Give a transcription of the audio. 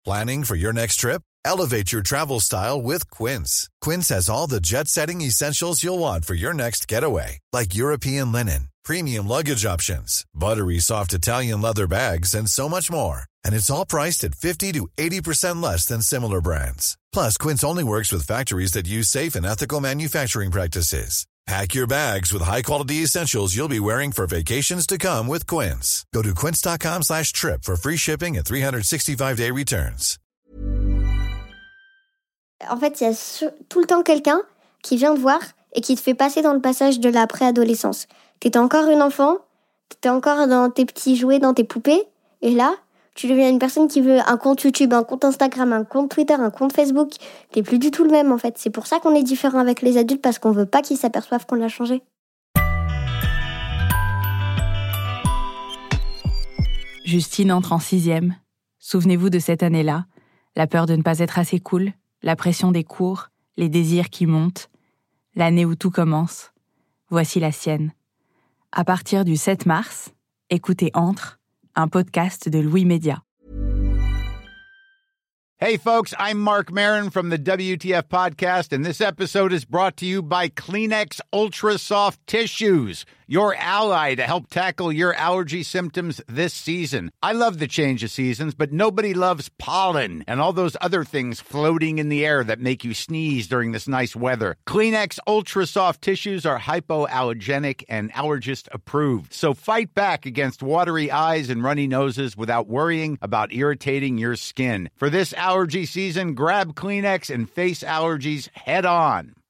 Planning for your next trip? Elevate your travel style with Quince. Quince has all the jet-setting essentials you'll want for your next getaway, like European linen, premium luggage options, buttery soft Italian leather bags, and so much more. And it's all priced at 50 to 80% less than similar brands. Plus, Quince only works with factories that use safe and ethical manufacturing practices. Pack your bags with high-quality essentials you'll be wearing for vacations to come with Quince. Go to quince.com/trip for free shipping and 365-day returns. En fait, il y a tout le temps quelqu'un qui vient te voir et qui te fait passer dans le passage de la préadolescence. T'étais encore une enfant, t'étais encore dans tes petits jouets, dans tes poupées, et là, tu deviens une personne qui veut un compte YouTube, un compte Instagram, un compte Twitter, un compte Facebook. T'es plus du tout le même, en fait. C'est pour ça qu'on est différent avec les adultes, parce qu'on veut pas qu'ils s'aperçoivent qu'on a changé. Justine entre en 6e. Souvenez-vous de cette année-là. La peur de ne pas être assez cool, la pression des cours, les désirs qui montent. L'année où tout commence. Voici la sienne. À partir du 7 mars, écoutez Entre, un podcast de Louis Média. Hey folks, I'm Mark Maron from the WTF Podcast, and this episode is brought to you by Kleenex Ultra Soft Tissues, your ally to help tackle your allergy symptoms this season. I love the change of seasons, but nobody loves pollen and all those other things floating in the air that make you sneeze during this nice weather. Kleenex Ultra Soft Tissues are hypoallergenic and allergist approved, so fight back against watery eyes and runny noses without worrying about irritating your skin. For this allergy season, grab Kleenex and face allergies head on.